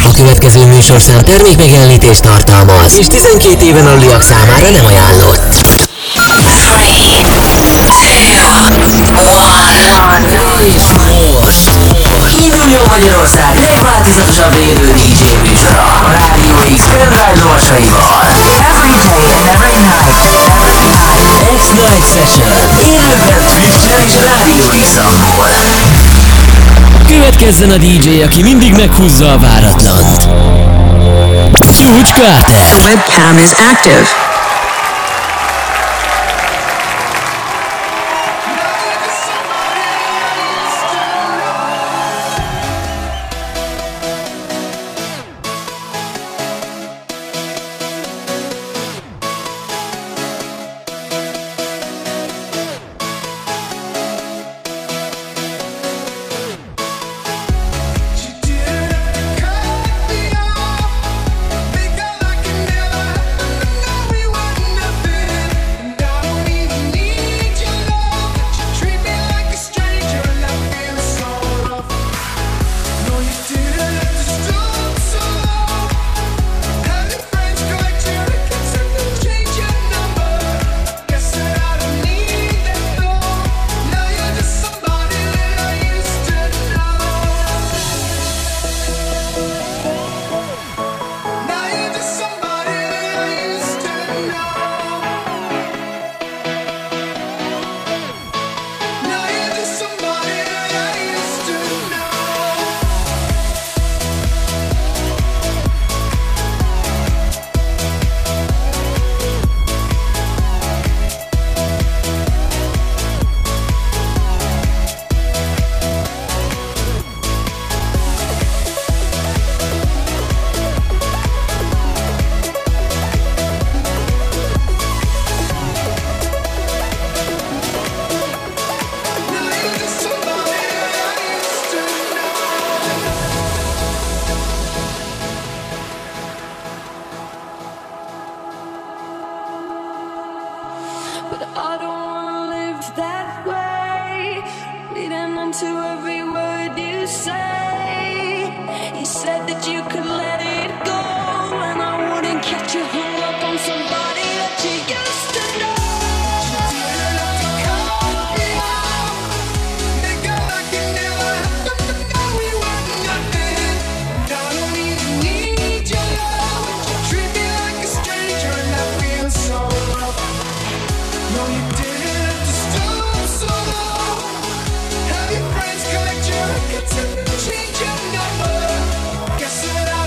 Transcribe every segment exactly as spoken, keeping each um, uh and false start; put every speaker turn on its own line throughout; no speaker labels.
A következő műsorszám termékmegjelenítést tartalmaz, és tizenkét éven aluliak számára nem ajánlott. És most induljon Magyarország legváltozatosabb élő dé dzsé műsora a Rádió X pendrive lovasaival. Every day and every night, every night, X-Night Session. Élőben Twitch-en és Rádió X-ból. Következzen a dé dzsé, aki mindig meghúzza a váratlant. Csúcs Carter.
The webcam is active.
Change your number. Guess that I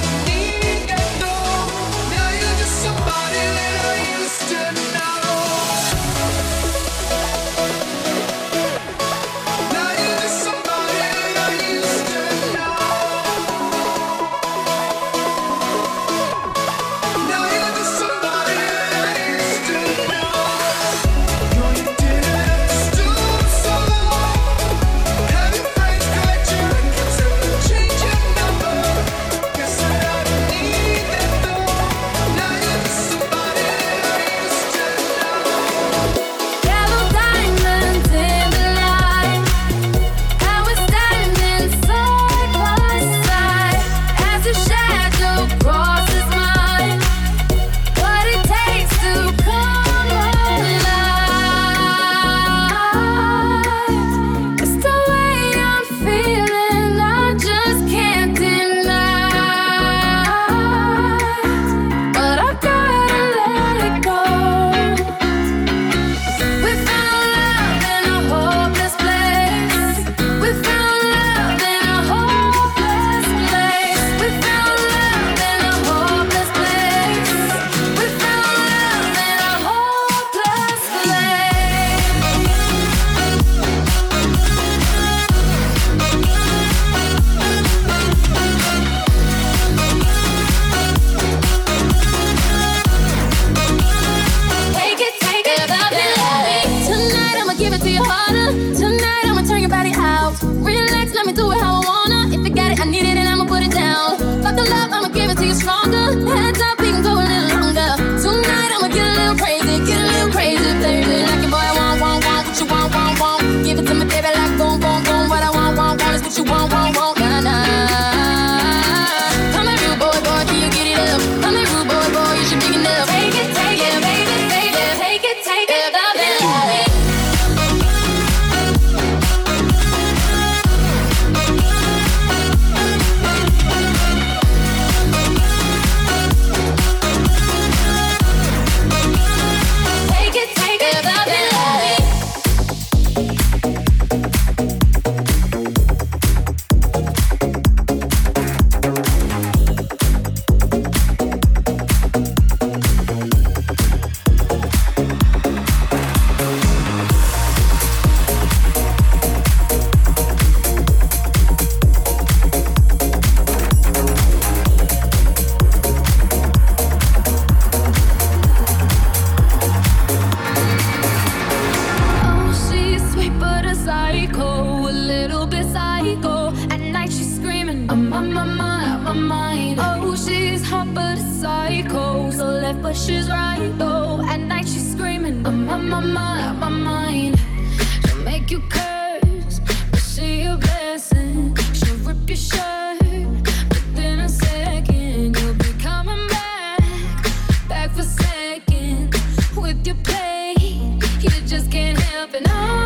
mind. Oh, she's hot but a psycho, so left but she's right though. At night she's screaming, I'm on my mind, my mind. She'll make you curse, but she a blessing. She'll rip your shirt, within a second you'll be coming back, back for seconds with your play. You just can't help it, no,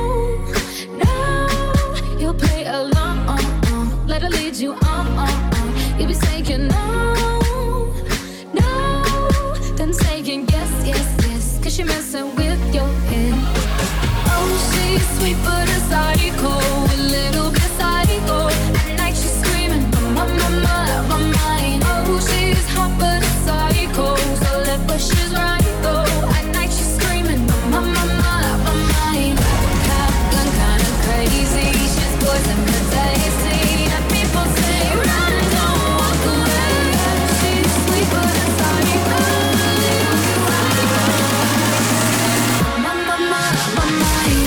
no. You'll play along, let her lead you on, on, on. You'll be saying no, no, then saying yes, yes, yes, cause you're messing with your head. Oh, she's sweet but a psycho, a little bit psycho. At night she's screaming, my, my, my, my mind. Oh, she's hot but a psycho, so left but she's right though. At night she's screaming, my, my, my, my mind. Gun kinda crazy, she's poison but tasty. And people say run, don't walk away. She's sweet but a psycho, a little bit psycho. My, my, my, my mind.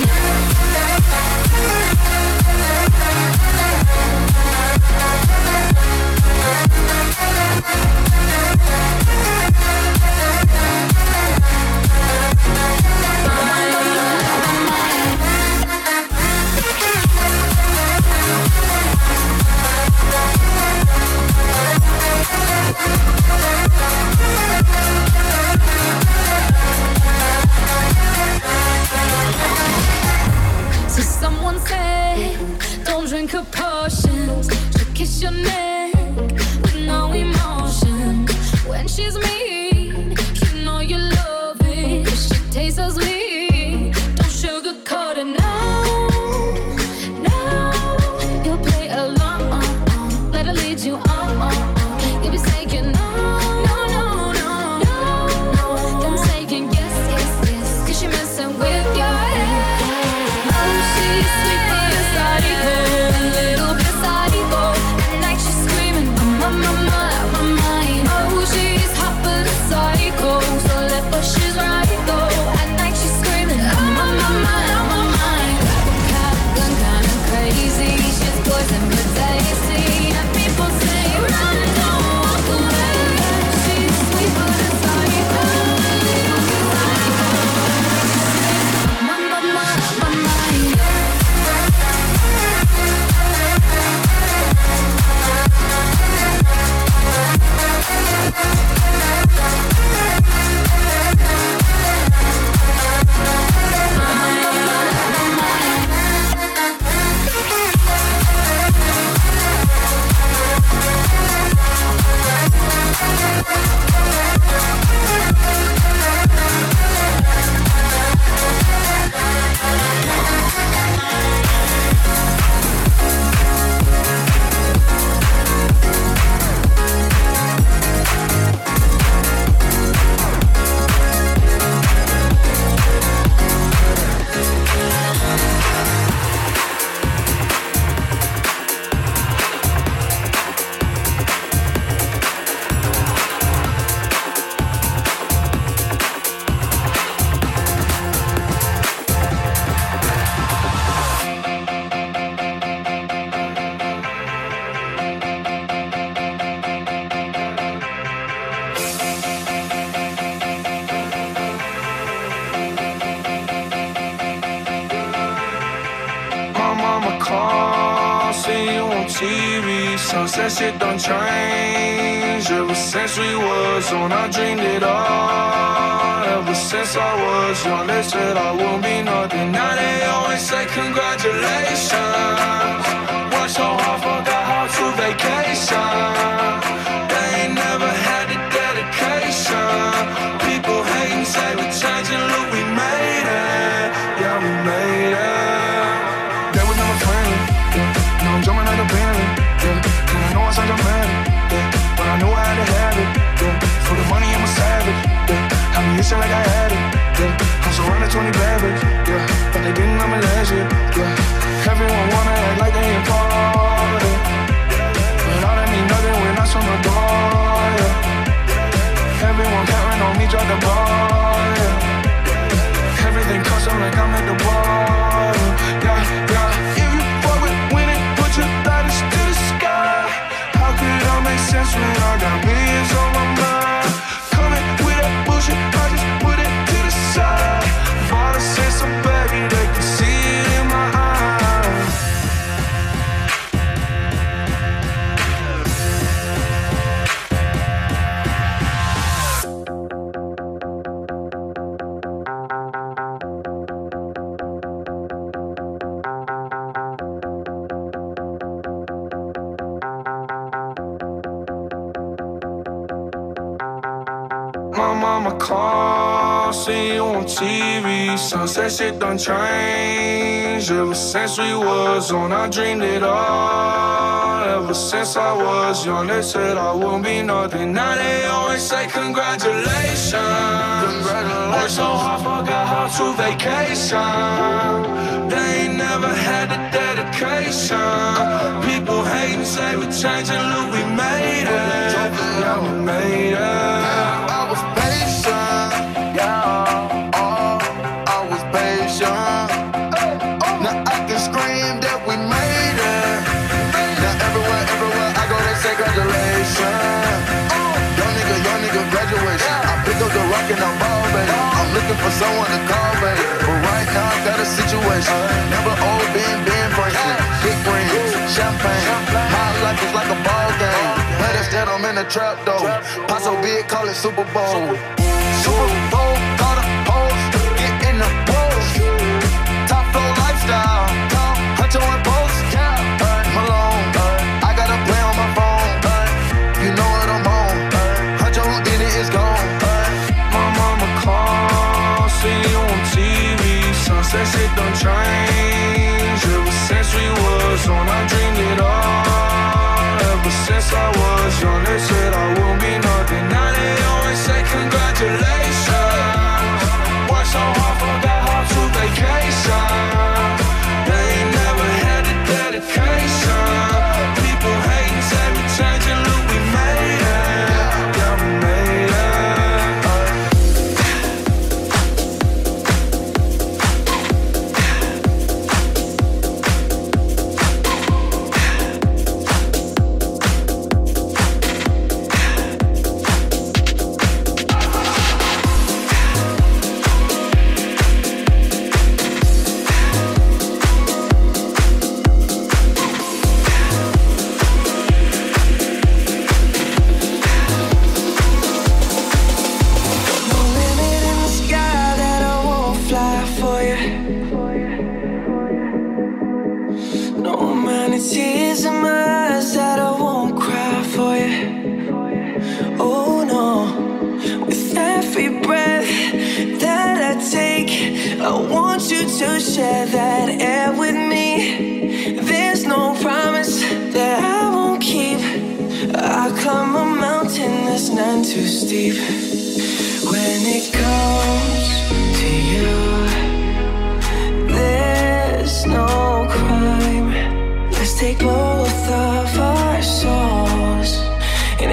So someone said, don't drink her potions. She'll kiss your neck with no emotion. When she's mean, you know you love it. She tastes so sweet, don't sugarcoat it, no, no. You'll play along, let her lead you on. You'll be saying no, no, no, no, no, no. Then saying yes, yes, yes, cause you're messing with your head. Oh, she's sweet but a psycho, a little bit psycho. At night she's screaming, my, my, my, my mind. Oh, she's hot but a psycho, so left but she's right though. At night she's screaming, my, my, my, my mind. Gun kinda crazy, she's poison but tasty. And people say run, don't walk away. She's sweet but a psycho, a little bit psycho. My, my, my, my mind.
Sunset shit don't change. Ever since we was on, I dreamed it all. Ever since I was young, they said I won't be nothing. Now they always say congratulations. Worked so hard, forgot how to vacation. They ain't never had the dedication. People hating, say we changing, look, we made it. Yeah, we made it. They was never friendly. Yeah. Now I'm jumping like a Bentley. Yeah. And I know I sound dramatic. Yeah. But I knew I had to have it. Yeah. For the money, I'm a savage. Yeah. Have me itching like I had it. Yeah. I'm surrounded twenty bad bitch. Yeah. But they didn't know me last year. Yeah. Everyone wanna act like they important. But all that mean nothing when I on the door. Yeah. Everyone counting on me, drop the ball. Yeah. Everything custom like I'm at the bar. Yeah, yeah. If you fuck with winning, put your lighters to the sky. How could it all make sense sense when I got millions on my mind. Coming with that bullshit, I just put it to the side. Father said some baby, they can see it in my eyes. My mama called, see you on T V. Sunset shit done changed. Ever since we was on, I dreamed it all. Ever since I was young, they said I wouldn't be nothing. Now they always say congratulations. Congratulations. Worked so hard, forgot how to vacation. They ain't never had the dedication. People hate and say we changing, look, we made it. Yeah, we made it.
And I'm ball, baby. I'm looking for someone to call, baby. But right now I got a situation. Never old, been, been Franklin. Big rings, champagne. My life is like a ball game. Understand I'm in a trap though. Pot so big, call it Super Bowl. Super Bowl, got a pose. Get in the pose. Top flow lifestyle. Huncho and post. Malone. I got a play on my phone. You know what I'm on. Huncho who did it is gone.
See you on T V, sunset shit done changed. Ever since we was on, I dreamed it all. Ever since I was young, they said I wouldn't be nothing. Now they always say congratulations. Worked so hard, forgot how to vacation. They ain't never had the dedication. People hate and say we changing, look, we made it. Yeah, we made it.
Share that air with me. There's no promise that I won't keep. I climb a mountain that's none too steep. When it comes to you, there's no crime. Let's take both of our souls and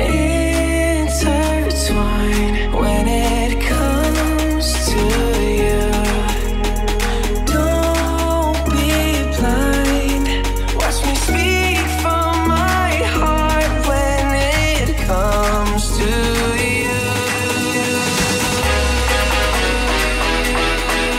intertwine. When it comes to you,
We'll be right back.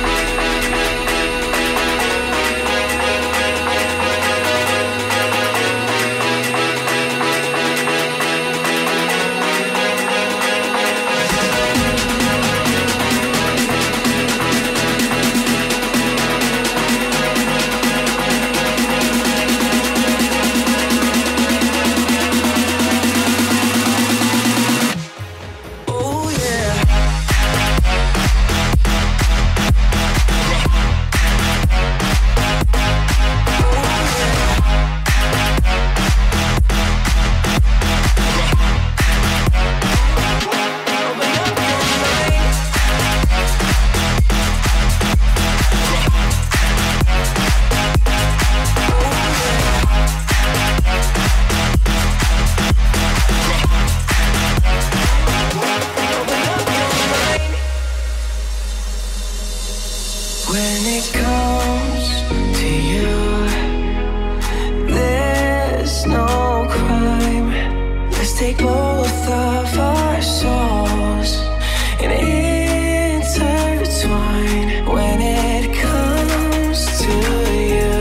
both of our souls and intertwine when it comes to you.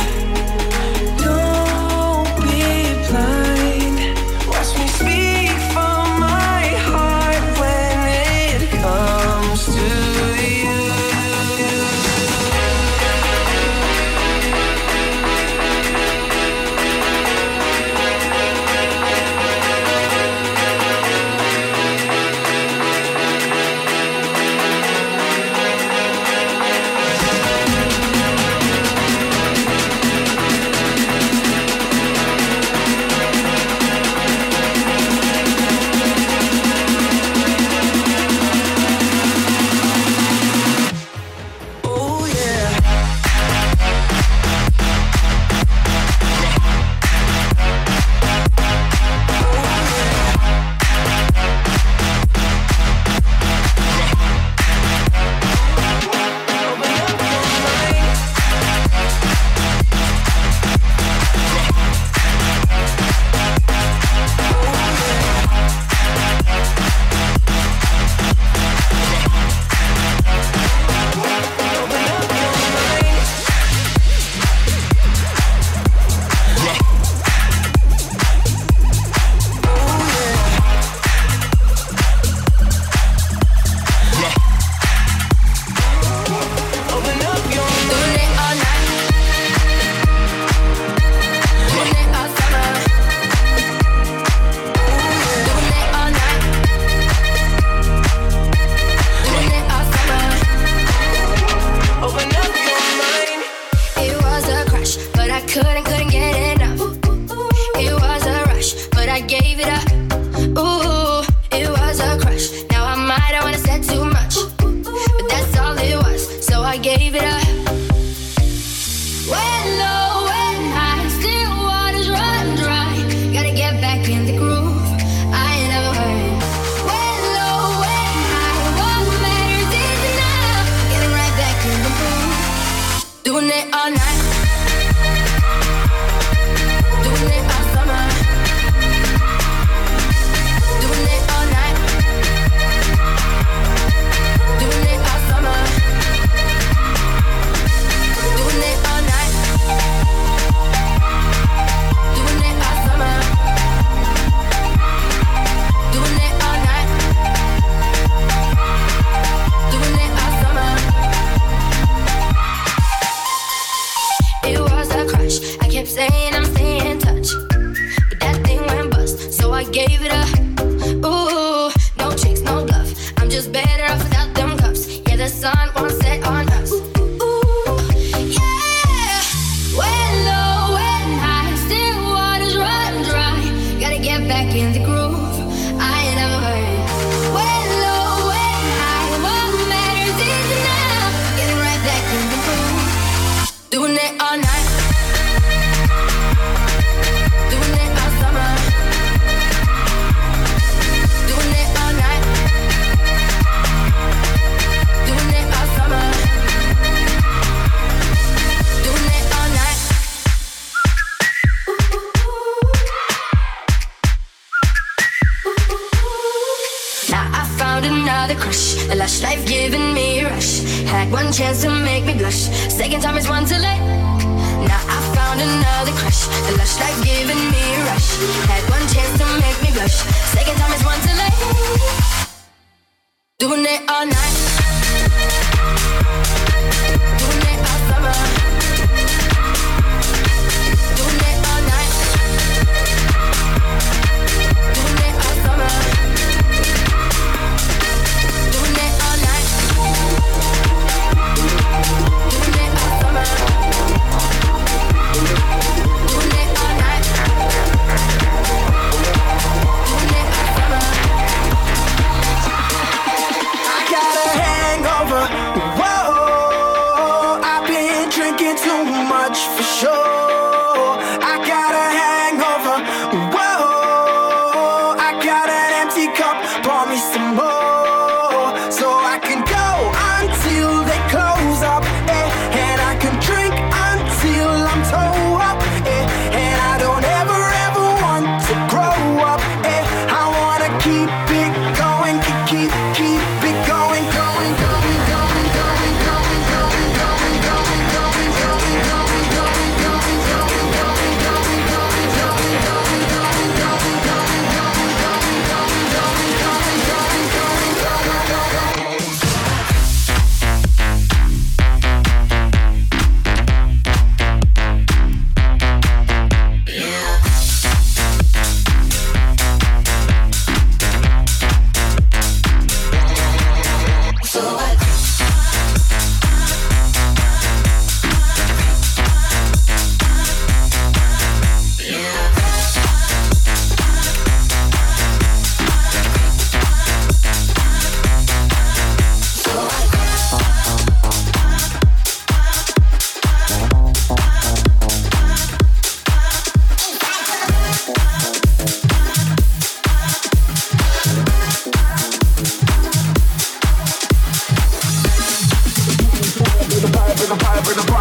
Don't be blind. Watch me speak from my heart when it comes to you. Oh yeah. Open up your mind.
Doing it all night. Doing it all summer. Doing it all night. Doing it all summer.
Open up your mind.
It was a crush, but I couldn't, couldn't get enough. It was a rush, but I gave it up. Ooh, it was a crush. Now I might have wanna said too much, but that's all it was, so I gave it up. When low, when high, still waters run dry. Gotta get back in the groove. I ain't never heard. When low, when high, what matters is now. Getting right back in the groove. Doing it all night. Doing it all summer. Doing it all night. Doing it all summer. Doing it all night. Doing it all summer. Doing it all night. Doing it all summer. It was a crush. I kept saying I'm staying in touch, but that thing went bust, so I gave it up. Ooh, no tricks, no bluff. I'm just better off without them cuffs. Yeah, the sun won't set on us. Ooh, yeah. When low, when high, still waters run dry. Gotta get back in the groove. I ain't never heard. When low, when high, what matters is now. Getting right back in the groove. Doing it all night. Doing it all summer. Doing it all night. Doing it all summer. Doing it all night. Now I found another crush. The lush life giving me a rush. Had one chance to make me blush. Second time is one too late. Now I found another crush. The lush life giving me a rush. Had one chance to make me blush. Second time is one too late. Doing it all night. Doing it all summer. Doing it all night. Doing it all summer. Doing it all night. Doing it all summer. Doing it all night. Doing it all summer.
I got a hangover. Whoa, I've been drinking too much for sure. I got a hangover. Whoa, I got an empty cup. Pour me some more, so I can go until they close up. Eh, and I can drink until I'm toe up. Eh, and I don't ever ever want to grow up. Eh, I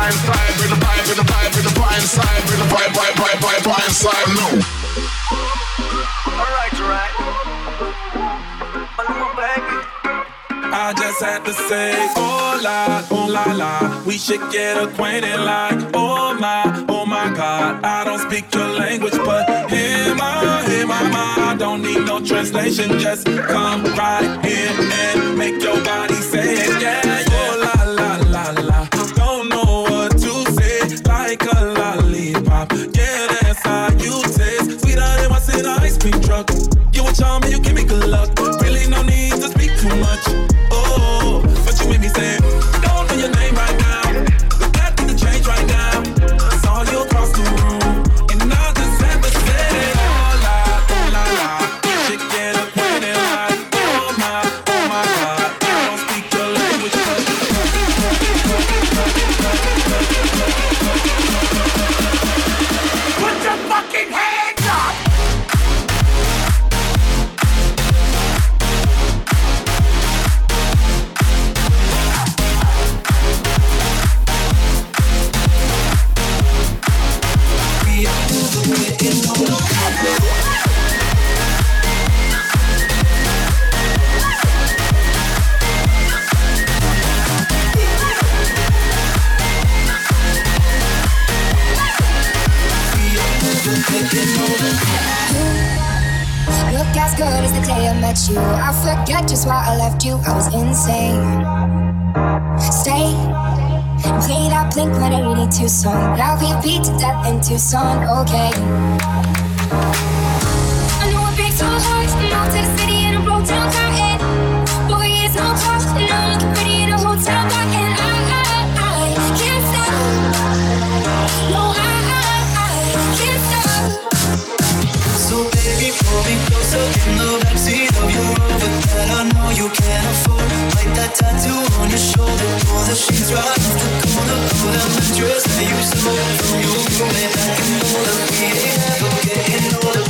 fine side, bring the vibe, bring the vibe, bring the fine side, bring the vibe, vibe, vibe, vibe, fine side. No.
Alright, alright.
I just had to say, oh la, oh la la, we should get acquainted like, oh my, oh my God. I don't speak your language, but hey my, hey my, my, I don't need no translation. Just come right here and make your body say it, yeah, yeah. Oh la la la la, don't know what to say, like a lollipop. Yeah, that's how you taste, sweeter than what's in an ice cream truck. You a charm and you give me good luck. Really no need to speak too much. Oh, but you made me say, don't know your name right now. That need to change right now. I saw you across the room, and I just had to say, oh la, oh la la, you should get acquainted like, oh my, oh my God. I don't speak your language, but put your fucking hands up.
Look as good as the day I met you. I forget just why I left you. I was insane. Stay and play that Blink one eighty-two song. Now we beat to death in Tucson, okay. I know it breaks your heart. Moved to the city and I broke down crying. Four years no talk, now I'm looking pretty in a hotel bar. And I, I, I can't stop. No, I, I, I can't stop.
So baby, pull me closer in the backseat of your Rover that I know you can't afford. Like that tattoo on your shoulder, pull the sheets right off the corner of that mattress that you stole from your roommate back in Boulder. We ain't ever getting older.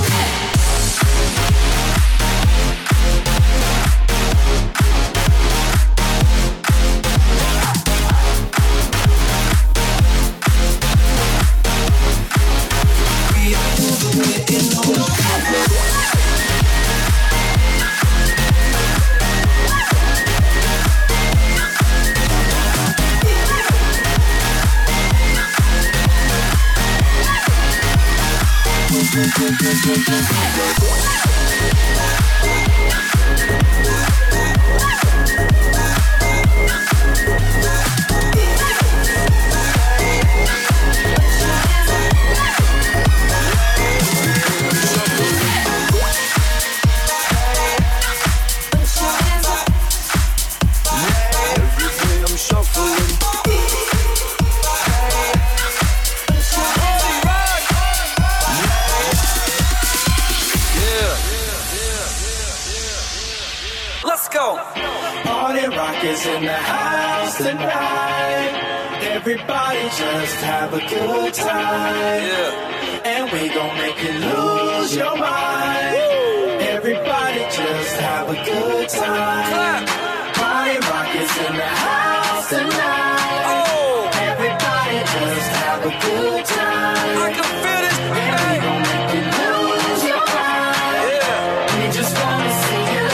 In the house tonight, everybody just have a good time, yeah. And we gon' make you lose your mind. Woo. Everybody just have a good time. Clap. Party rock is in the house tonight. Oh. Everybody just have a good time. I can feel this. And we gon' make you lose your mind. Yeah. We just wanna see you.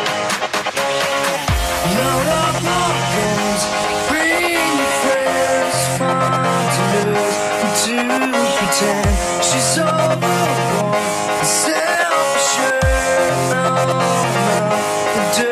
No, no. She's overborn, self-assured, no, no,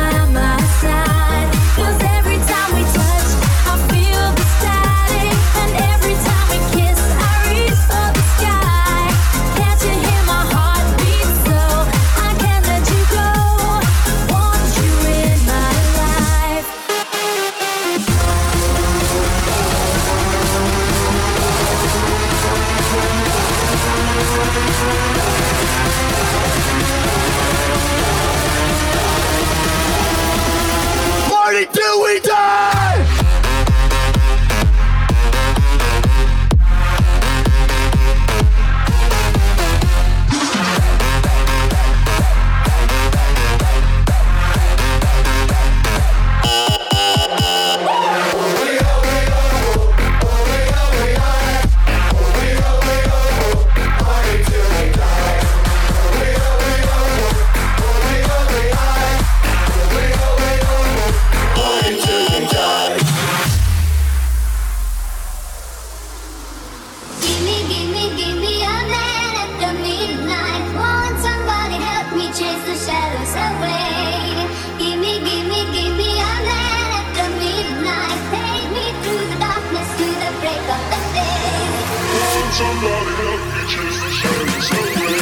Somebody help me chase the shadows away.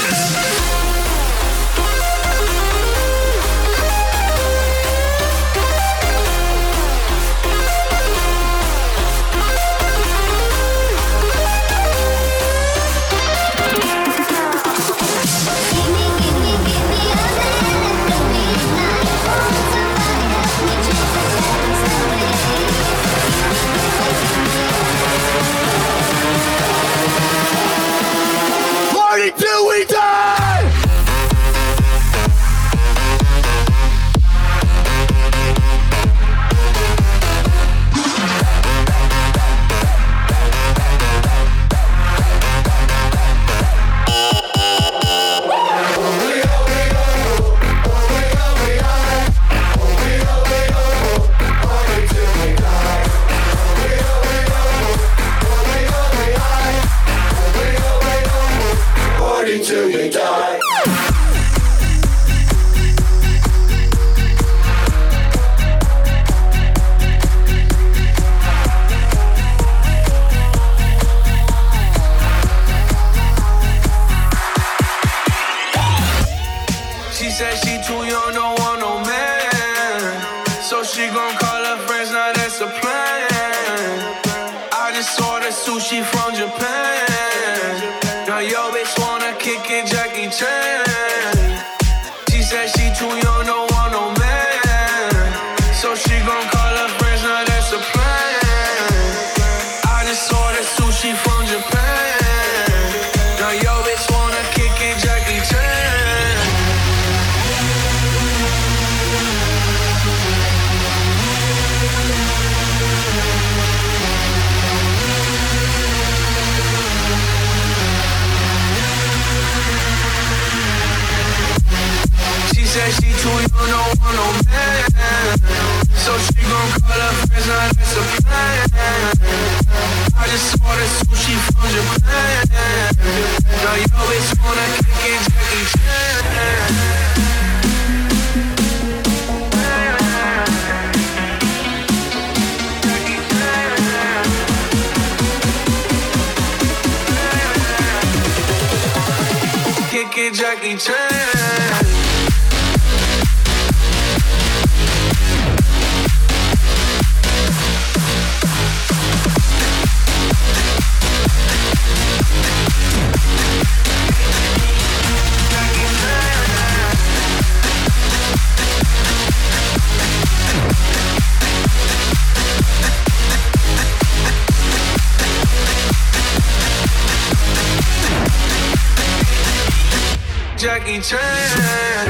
Till we die! Till we die.
She said she too young, don't want no man. So she gon' call her friends, now that's a plan. I just ordered sushi from Japan. Now yo bitch wanna kick it, Jackie Chan. She said she too young, don't want no man. So she gon' call her friends, now that's a plan. I just ordered sushi from Japan. Now yo bitch wanna kick it, Jackie Chan. Said she too young, don't want no man. So she gon' call her friends, now that's a plan. I just ordered sushi from Japan. Now yo bitch wanna kick it, Jackie Chan. Kick it, Jackie Chan. Jackie Chan.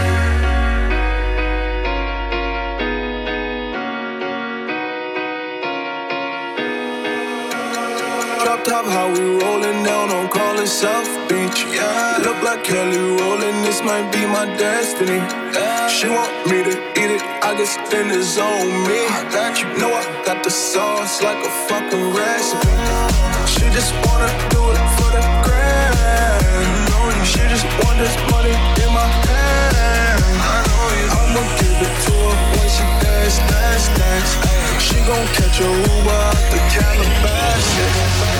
Drop top, how we rollin' down on call it South Beach. Yeah, look like Kelly rollin', this might be my destiny. Yeah. She want me to eat it, I guess then it's on me. I got you, know I got the sauce like a fucking recipe. She just wanna do it for the grand. She just want this money in my hand. I know you. I'ma give it to her when she dance, dance, dance. She gon' catch a Uber out the Calabasas.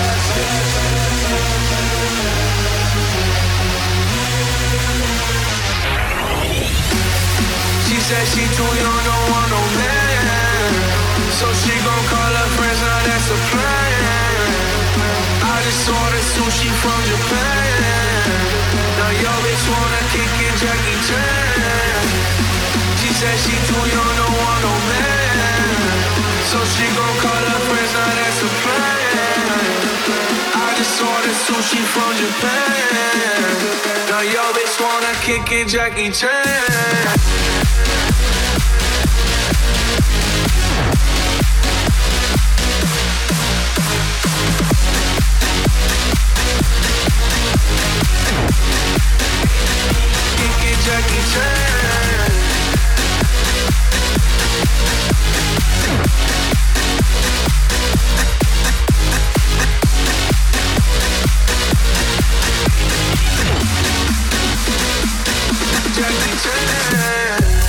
She said she too young, don't want no man. So she gon' call her friends, now that's a plan. I just ordered sushi from Japan. Now yo bitch wanna kick it, Jackie Chan. She said she too young, don't want no man. So she gon' call her friends, now that's a plan. I just ordered sushi from Japan. Now yo bitch wanna kick it, Jackie Chan. Jackie Chan. Jackie Chan.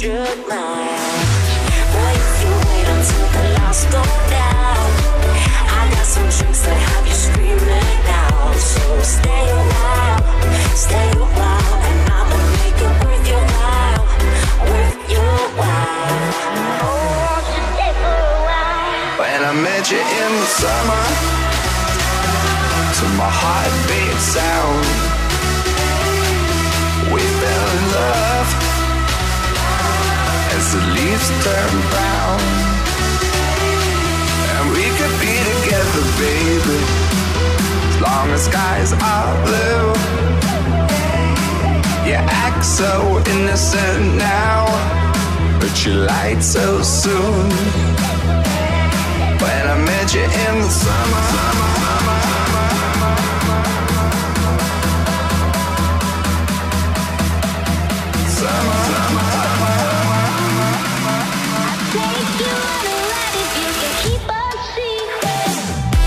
hundred miles. Boy, if you wait until the lights go down, I got some tricks that have you screaming out. So stay a while, stay a while, and I'ma make it worth your while, worth your while. Oh, just stay for a while.
When I met you in the summer, to my heartbeat sound, we fell in love as the leaves turn brown. And we could be together, baby, as long as skies are blue. You act so innocent now, but you lied so soon. When I met you in the summer, summer, summer, summer. Summer, summer, summer.
I'll take you on a ride if you can keep a secret.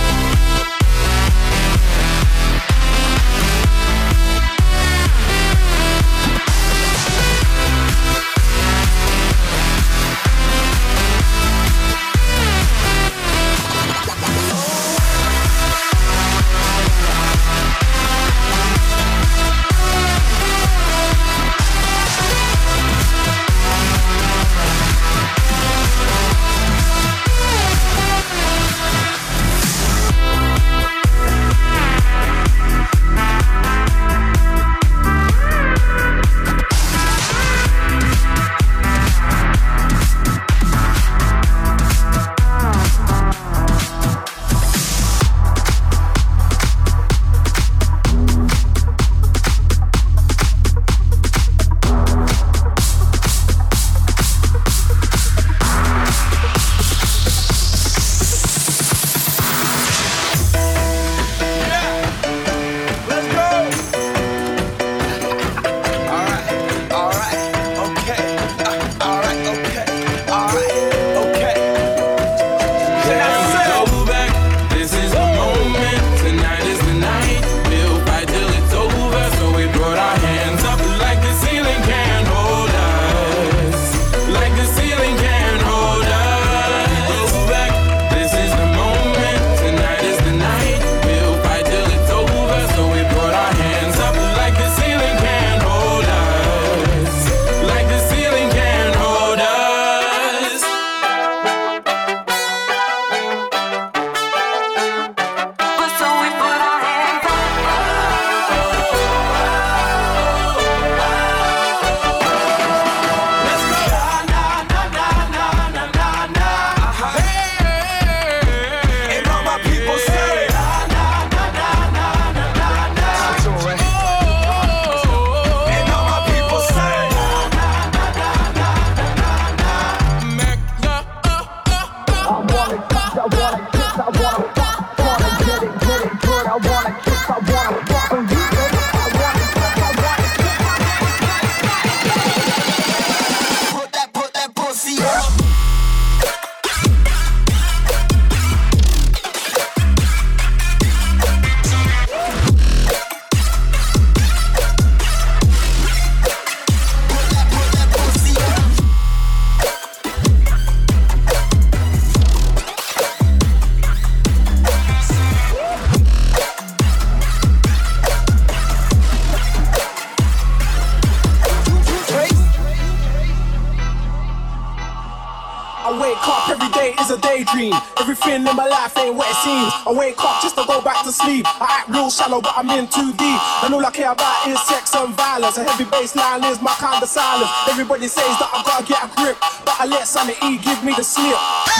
Everything in my life ain't what it seems. I wake up just to go back to sleep. I act real shallow, but I'm in too deep. And all I care about is sex and violence. A heavy bass line is my kind of silence. Everybody says that I gotta get a grip, but I let sanity give me the slip.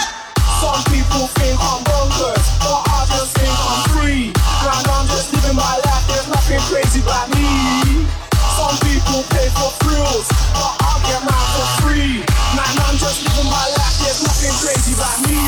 Some people think I'm bonkers, but I just think I'm free. And I'm just living my life, there's nothing crazy about me. Some people pay for thrills, but I get mine for free. Man, I'm just living my life, there's nothing crazy about me.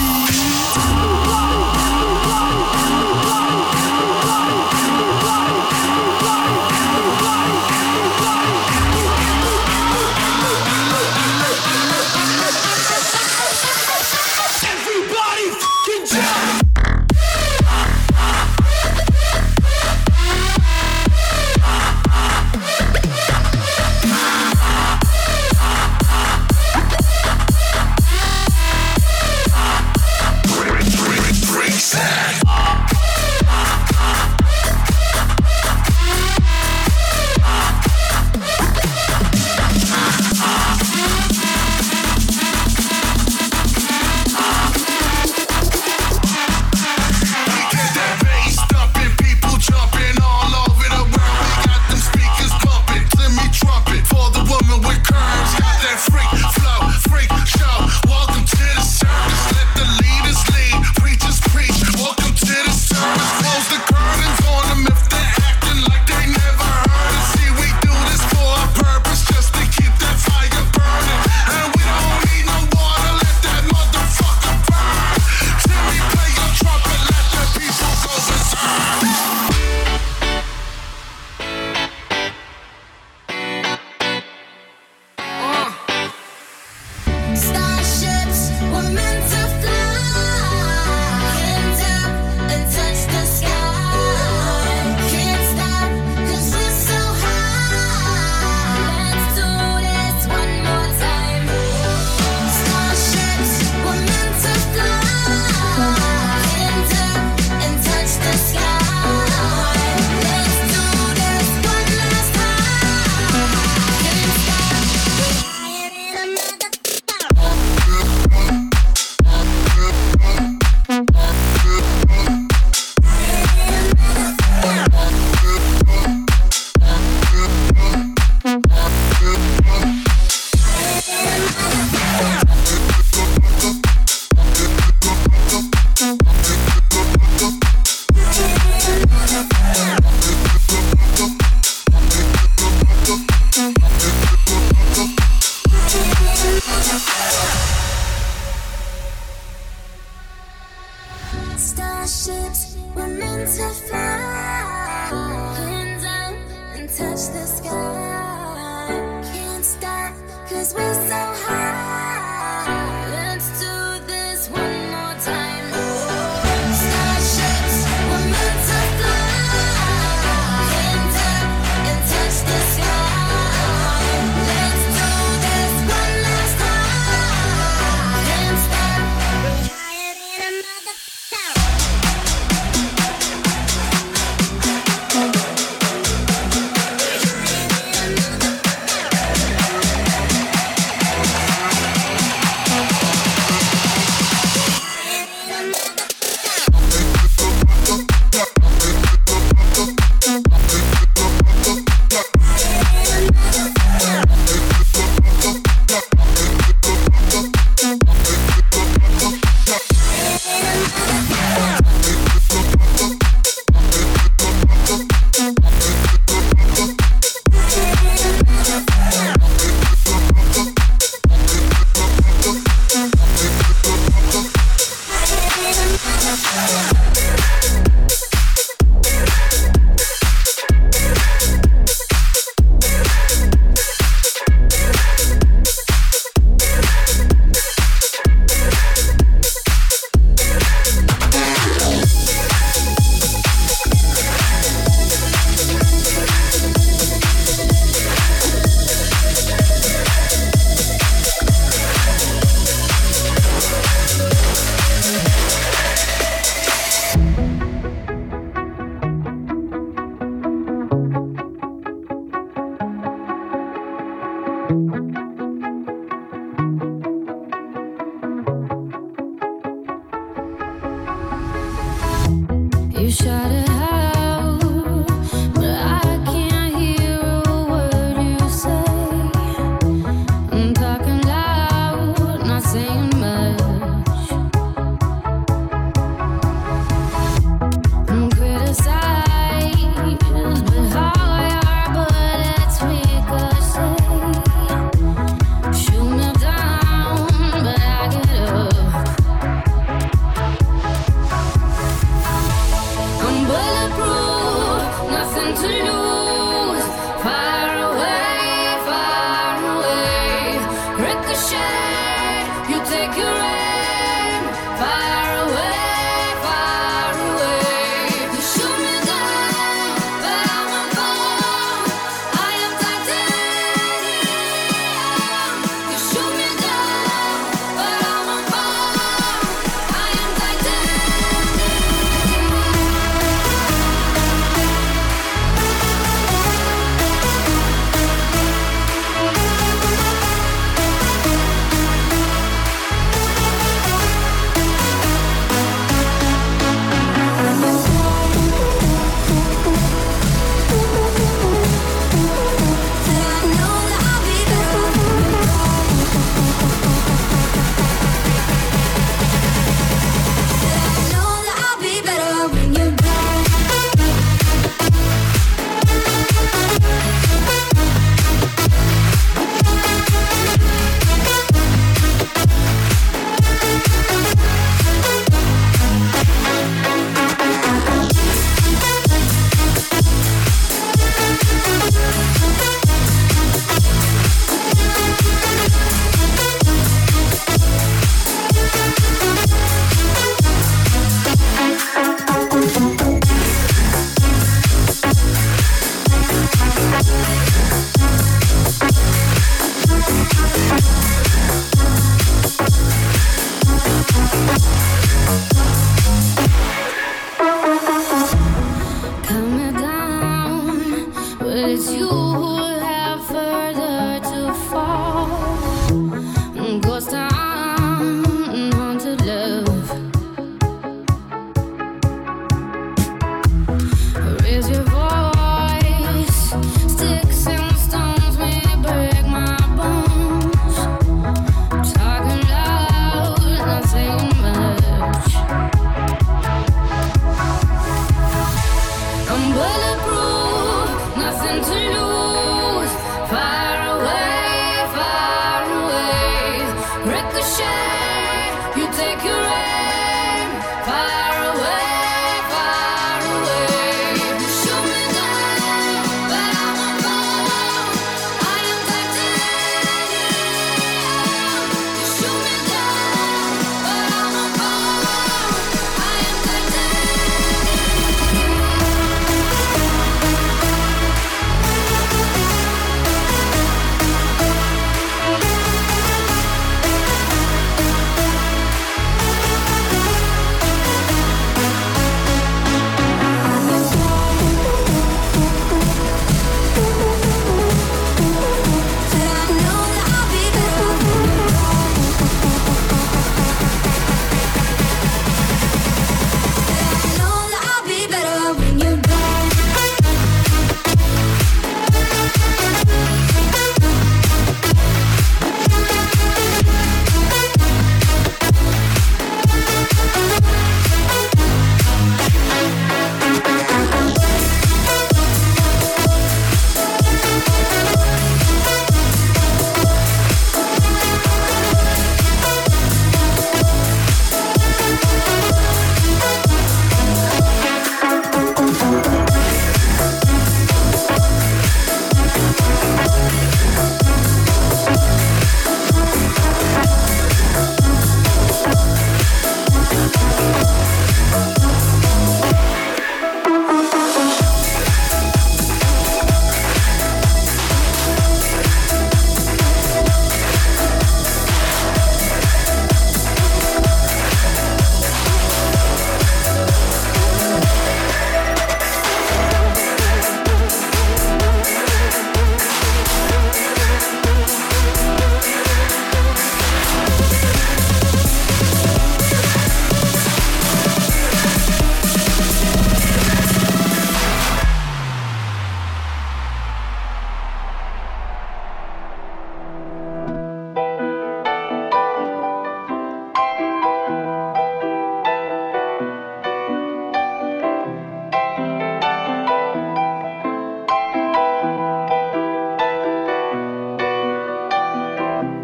Everybody, fucking jump!
sky. Can't stop, cause we're so high. Let's do this one more time. Starships, we're meant to fly. Hands up and touch the sky. Let's do this one last time. Can't stop, we're higher than a motherfucker. You shout it out, but I can't hear a word you say. I'm talking loud, not saying much. I'm criticized, but how your bullets ricochet.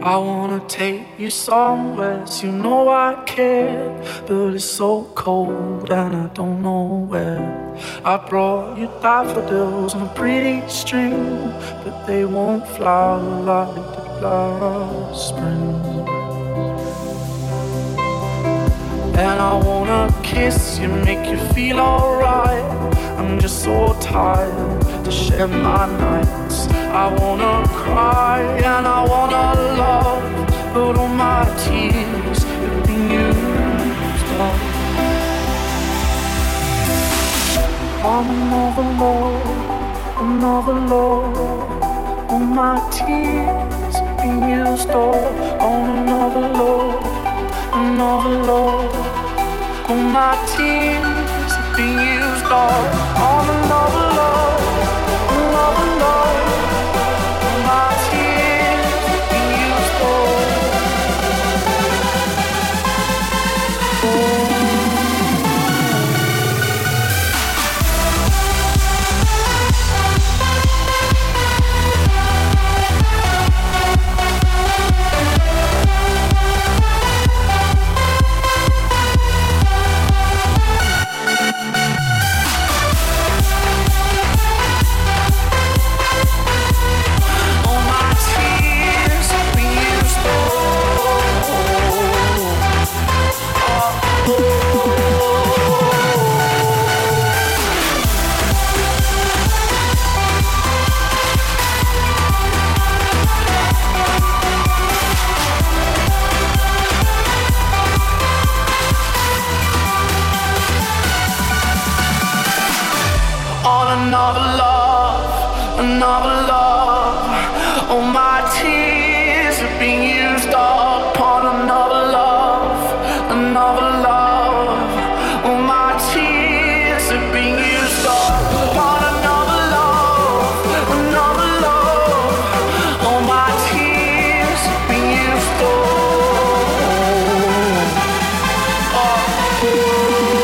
I wanna take you somewhere, you know I care, but it's so cold and I don't know where. I brought you daffodils on a pretty string, but they won't flower like they did last spring. And I wanna kiss you, make you feel alright. I'm just so tired to share my nights. I wanna cry and I wanna love, but all my tears have been used up on another love, another love. All my tears have been used up on another love, another love. All my tears have been used up on another love, another love. All my tears have been used up. Oh. Another love, another love. All my tears have been used up on another love, another love. All my tears have been used up on another love, another love. All my tears have been used up. Oh.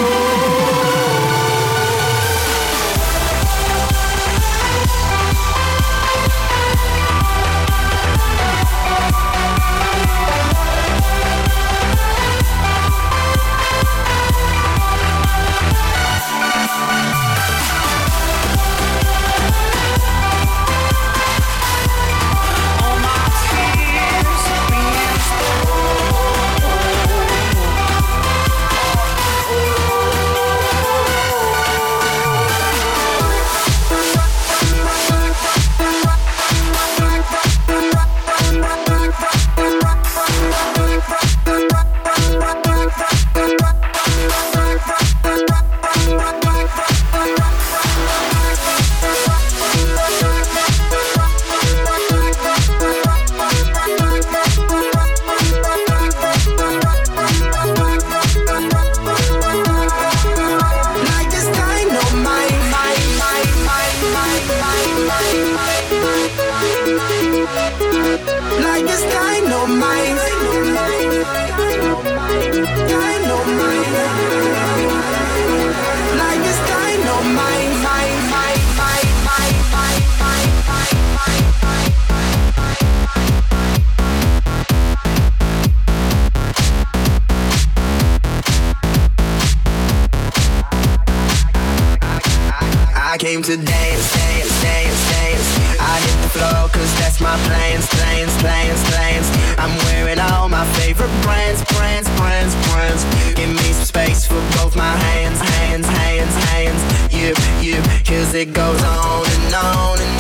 I came to dance, dance, dance, dance. I hit the floor cause that's my plans, plans, plans, plans. I'm wearing all my favorite brands, brands, brands, brands. Give me some space for both my hands, hands, hands, hands. You, you, cause it goes on and on and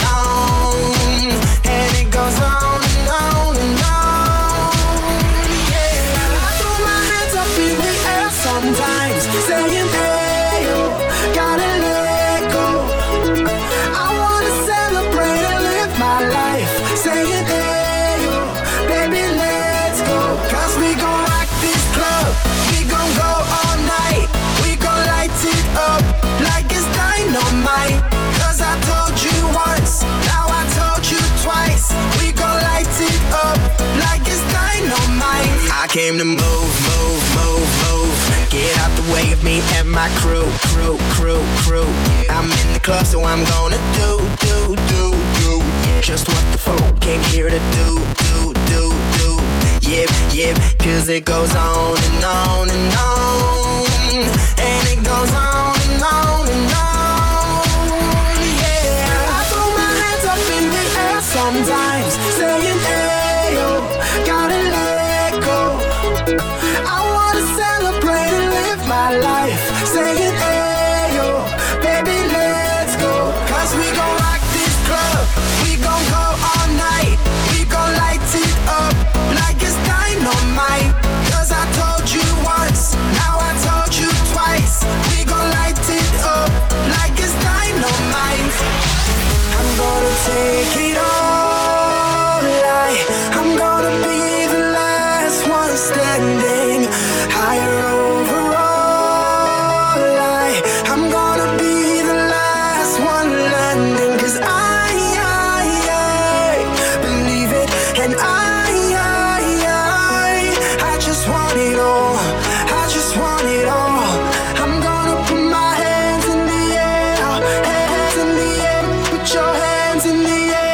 on. And it goes on and on and on. Yeah, I throw my hands up in the air sometimes, saying hey, yo, gotta let go. I wanna celebrate and live my life, saying hey, yo, baby, let's go. Cause we gon' rock this club, we gon' go all night. We gon' light it up like it's dynamite. Cause I told you once, now I told you twice. We gon' light it up like it's dynamite. I came to move, move, move, move. Get out the way of me and my crew, crew, crew, crew. I'm in the club, so I'm gonna do, do, do, do. Just what the folk came here to do, do, do, do. yep, yep. Cause it goes on and on and on. And it goes on and on and on. Yeah. I throw my hands up in the air sometimes, saying, hey, yo, gotta let go. I wanna celebrate and live my life, saying, hey, yo, baby, let's go. Cause we gon' rock this club, we gon' go all night. We gon' light it up like it's dynamite. Cause I told you once, now I told you twice. We gon' light it up like it's dynamite. I'm gonna take it all, like I'm gonna be the last one standing. Higher overall, like I'm gonna be the last one landing. Cause I, I, I believe it, and I, I, I I just want it all, I just want it all. I'm gonna put my hands in the air, hands in the air, put your hands in the air.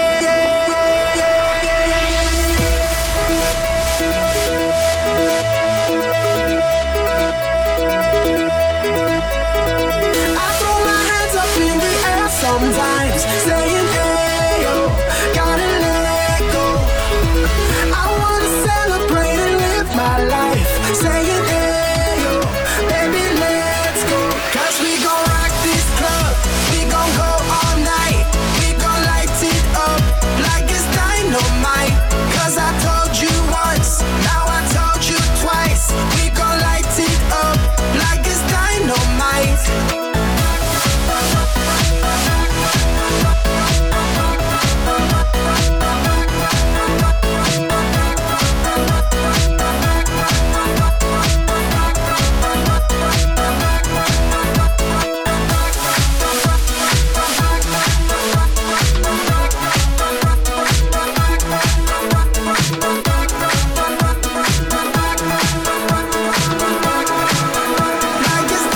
I throw my hands up in the air sometimes, saying, hey, yo, gotta let go. I wanna celebrate and live my life, saying, hey, yo, baby, let's go. Cause we gon' rock this club, we gon' go all night. We gon' light it up like it's dynamite. Cause I told you once, now I told you twice. We gon' light it up like it's dynamite. Like it's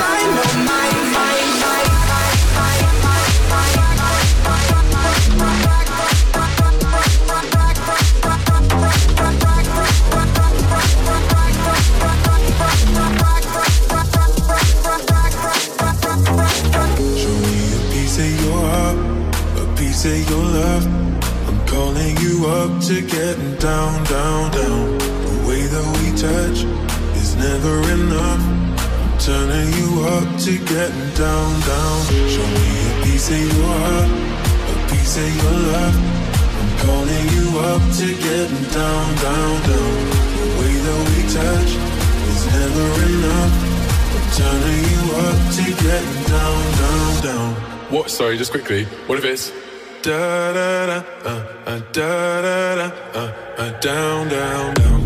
Show me a piece of your heart, a piece of your love. I'm calling you up to getting down, down, down. The way that we touch is never enough. I'm turning you up to getting down, down. Show me a piece of your heart, a piece of your love. I'm calling you up to getting down, down, down. The way that we touch is never enough. I'm turning you up to getting down, down, down.
What? Sorry, just quickly. What if it's
Da da da, uh, uh, da da da, uh, uh, down, down, down.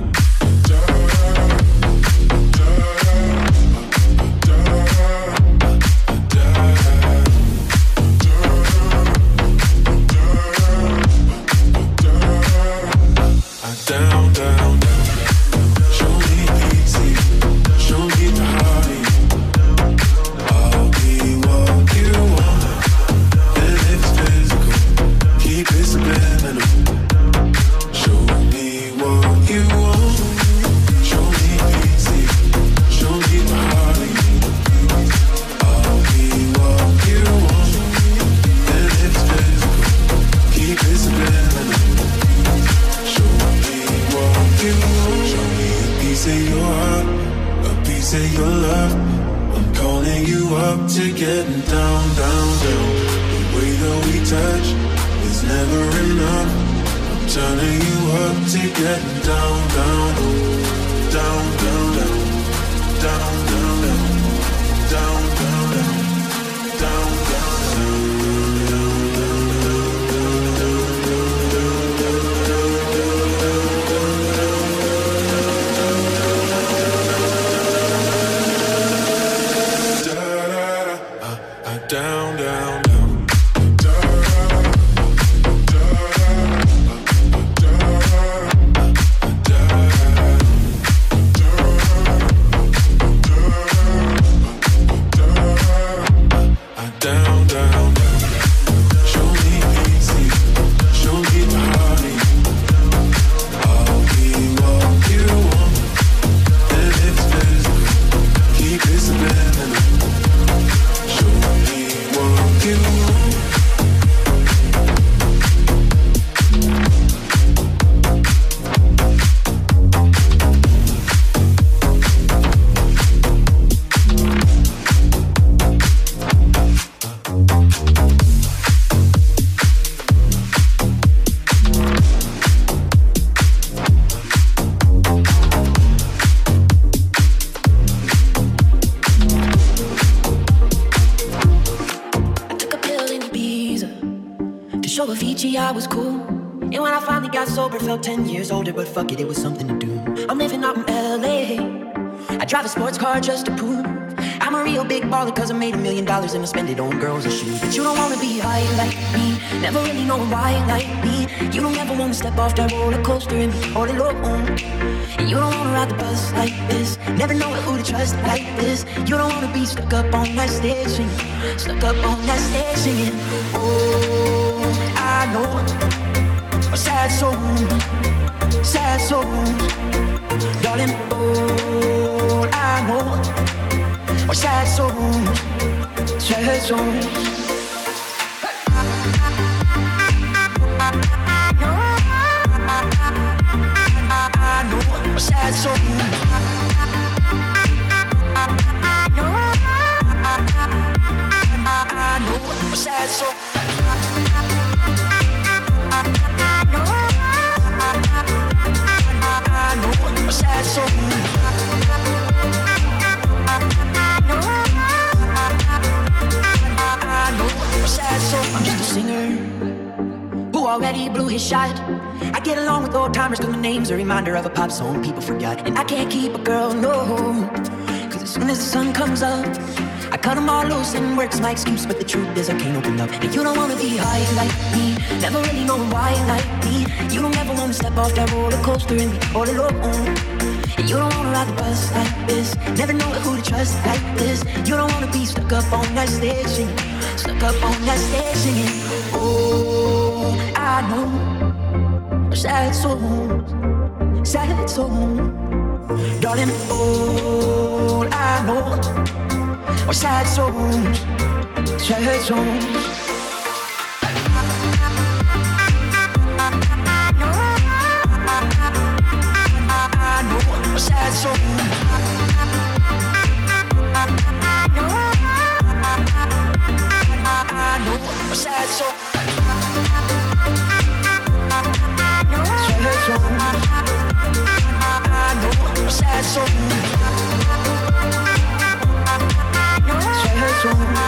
Down, down, down. Show me easy, show me the hearty. I'll be what you want, and it's physical. Keep it subliminal. Show me what you want. Show me easy, show me the hearty. I'll be what you want, and it's physical. Keep it subliminal. Show me what you want. Show me a piece of your heart, a piece of your love. I'm calling you up to getting down, down, down. The way that we touch is never enough. I'm turning you up to getting down, down, down, down, down, down, down, down, down, down, down, down, down, down. Down,
Peachy, I was cool. And when I finally got sober, felt ten years older, but fuck it, it was something to do. I'm living out in L A. I drive a sports car just to prove I'm a real big baller, cause I made a million dollars and I spend it on girls and shoes. But you don't wanna be high like me, never really know why like me. You don't ever wanna step off that roller coaster and be all alone. And you don't wanna ride the bus like this, never know who to trust like this. You don't wanna be stuck up on that stage singing, stuck up on that stage singing. Oh, I know a sad soul, sad soul, darling. Oh, I know or sad songs, sad songs. I know or sad songs. I know or sad songs. I know or sad songs. I'm just a singer who already blew his shot. I get along with old timers cause my name's a reminder of a pop song people forgot. And I can't keep a girl, no, cause as soon as the sun comes up I cut them all loose and work's my excuse. But the truth is I can't open up. And you don't wanna be high like me, never really know why like me. You don't ever wanna step off that roller coaster and be all alone. And you don't wanna ride the bus like this, never know who to trust like this. You don't wanna be stuck up on that stage singing, stuck up on that stage singing. Oh, I know sad songs, sad songs, darling. Oh, I know sad songs, sad songs. Sad song. I know a sad song. Sad song. I know a sad song. Sad song.